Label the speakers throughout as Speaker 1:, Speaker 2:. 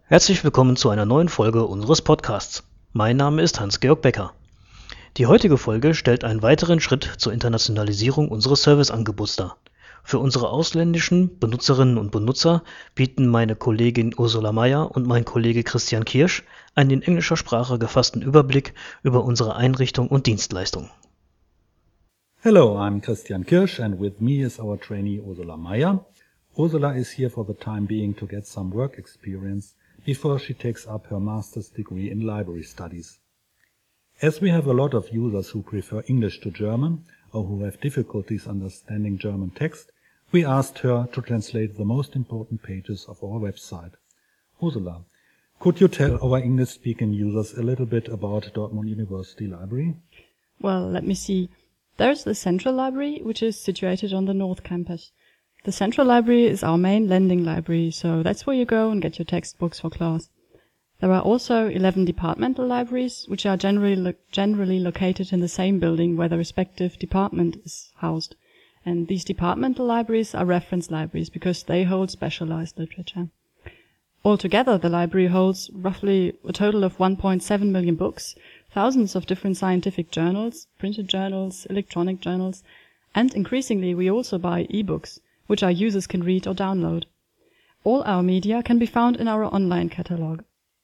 Speaker 1: Herzlich willkommen zu einer neuen Folge unseres Podcasts. Mein Name ist Hans-Georg Becker. Die heutige Folge stellt einen weiteren Schritt zur Internationalisierung unseres Serviceangebots dar. Für unsere ausländischen Benutzerinnen und Benutzer bieten meine Kollegin Ursula Meyer und mein Kollege Christian Kirsch einen in englischer Sprache gefassten Überblick über unsere Einrichtung und Dienstleistung.
Speaker 2: Hello, I'm Christian Kirsch and with me is our trainee Ursula Meyer. Ursula is here for the time being to get some work experience before she takes up her master's degree in library studies. As we have a lot of users who prefer English to German or who have difficulties understanding German text, we asked her to translate the most important pages of our website. Ursula, could you tell our English-speaking users a little bit about Dortmund University Library?
Speaker 3: Well, let me see. There's the Central Library, which is situated on the North Campus. The Central Library is our main lending library, so that's where you go and get your textbooks for class. There are also 11 departmental libraries, which are generally located in the same building where the respective department is housed. And these departmental libraries are reference libraries because they hold specialized literature. Altogether, the library holds roughly a total of 1.7 million books, thousands of different scientific journals, printed journals, electronic journals, and increasingly we also buy e-books, which our users can read or download. All our media can be found in our online catalog.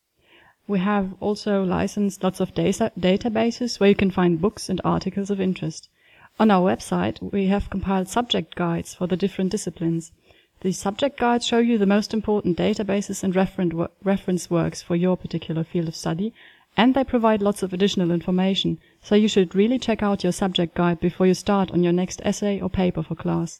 Speaker 3: We have also licensed lots of databases where you can find books and articles of interest. On our website, we have compiled subject guides for the different disciplines. These subject guides show you the most important databases and reference works for your particular field of study, and they provide lots of additional information, so you should really check out your subject guide before you start on your next essay or paper for class.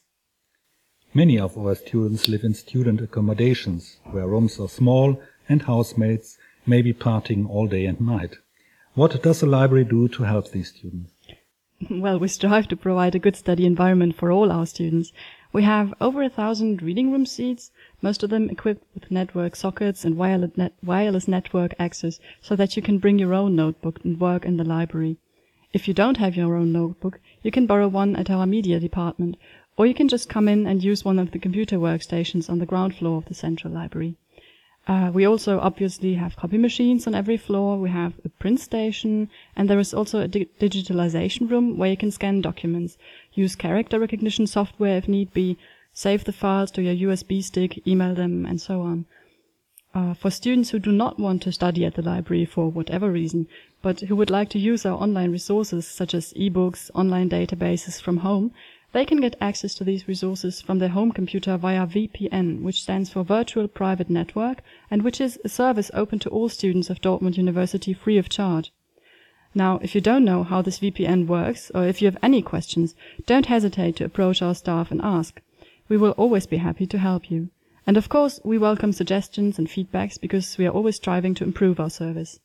Speaker 2: Many of our students live in student accommodations, where rooms are small and housemates may be partying all day and night. What does the library do to help these students?
Speaker 3: Well, we strive to provide a good study environment for all our students. We have over 1,000 reading room seats, most of them equipped with network sockets and wireless network access, so that you can bring your own notebook and work in the library. If you don't have your own notebook, you can borrow one at our media department, or you can just come in and use one of the computer workstations on the ground floor of the Central Library. We also obviously have copy machines on every floor, we have a print station, and there is also a digitalization room where you can scan documents, use character recognition software if need be, save the files to your USB stick, email them, and so on. For students who do not want to study at the library for whatever reason, but who would like to use our online resources such as e-books, online databases from home, they can get access to these resources from their home computer via VPN, which stands for Virtual Private Network, and which is a service open to all students of Dortmund University free of charge. Now, if you don't know how this VPN works, or if you have any questions, don't hesitate to approach our staff and ask. We will always be happy to help you. And of course, we welcome suggestions and feedbacks because we are always striving to improve our service.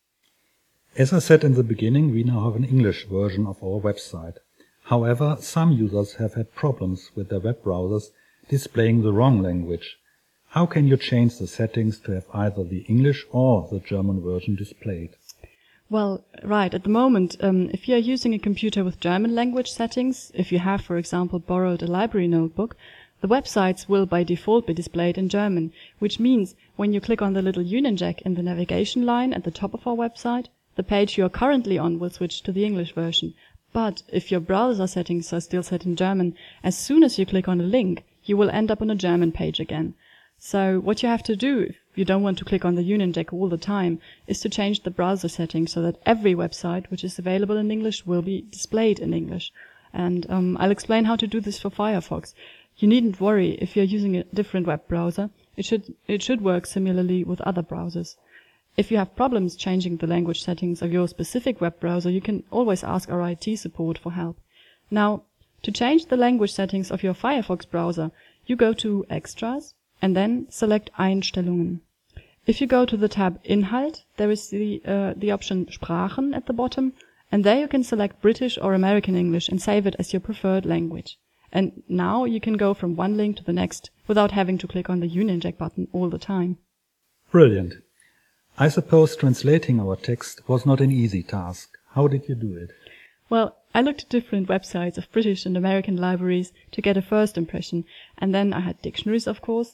Speaker 2: As I said in the beginning, we now have an English version of our website. However, some users have had problems with their web browsers displaying the wrong language. How can you change the settings to have either the English or the German version displayed?
Speaker 3: Well, right, at the moment, if you are using a computer with German language settings, if you have, for example, borrowed a library notebook, the websites will by default be displayed in German, which means when you click on the little Union Jack in the navigation line at the top of our website, the page you are currently on will switch to the English version. But if your browser settings are still set in German, as soon as you click on a link, you will end up on a German page again. So what you have to do, if you don't want to click on the Union Jack all the time, is to change the browser settings so that every website which is available in English will be displayed in English. And I'll explain how to do this for Firefox. You needn't worry if you're using a different web browser. It should work similarly with other browsers. If you have problems changing the language settings of your specific web browser, you can always ask our IT support for help. Now, to change the language settings of your Firefox browser, you go to Extras and then select Einstellungen. If you go to the tab Inhalt, there is the option Sprachen at the bottom, and there you can select British or American English and save it as your preferred language. And now you can go from one link to the next without having to click on the Union Jack button all the time.
Speaker 2: Brilliant. I suppose translating our text was not an easy task. How did you do it?
Speaker 3: Well, I looked at different websites of British and American libraries to get a first impression, and then I had dictionaries, of course.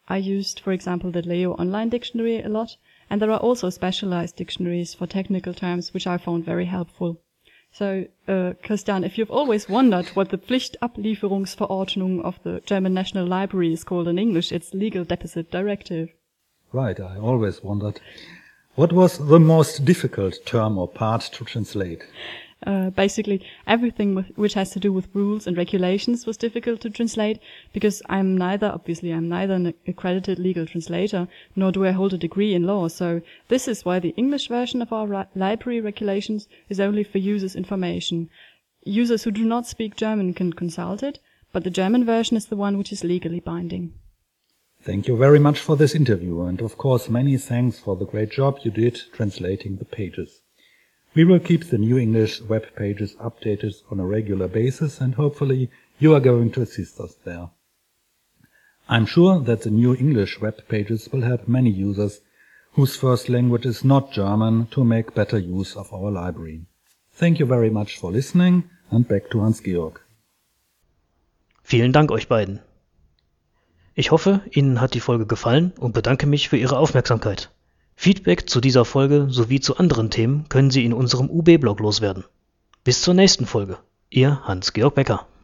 Speaker 3: I used, for example, the Leo online dictionary a lot, and there are also specialized dictionaries for technical terms which I found very helpful. So, Christian, if you've always wondered what the Pflichtablieferungsverordnung of the German National Library is called in English, it's Legal Deposit Directive.
Speaker 2: Right, I always wondered. What was the most difficult term or part to translate?
Speaker 3: Basically, everything which has to do with rules and regulations was difficult to translate, because I'm neither an accredited legal translator, nor do I hold a degree in law, so this is why the English version of our library regulations is only for users' information. Users who do not speak German can consult it, but the German version is the one which is legally binding.
Speaker 2: Thank you very much for this interview, and of course many thanks for the great job you did translating the pages. We will keep the New English web pages updated on a regular basis, and hopefully you are going to assist us there. I'm sure that the New English web pages will help many users whose first language is not German to make better use of our library. Thank you very much for listening, and back to Hans-Georg.
Speaker 1: Vielen Dank euch beiden. Ich hoffe, Ihnen hat die Folge gefallen und bedanke mich für Ihre Aufmerksamkeit. Feedback zu dieser Folge sowie zu anderen Themen können Sie in unserem UB-Blog loswerden. Bis zur nächsten Folge. Ihr Hans-Georg Becker.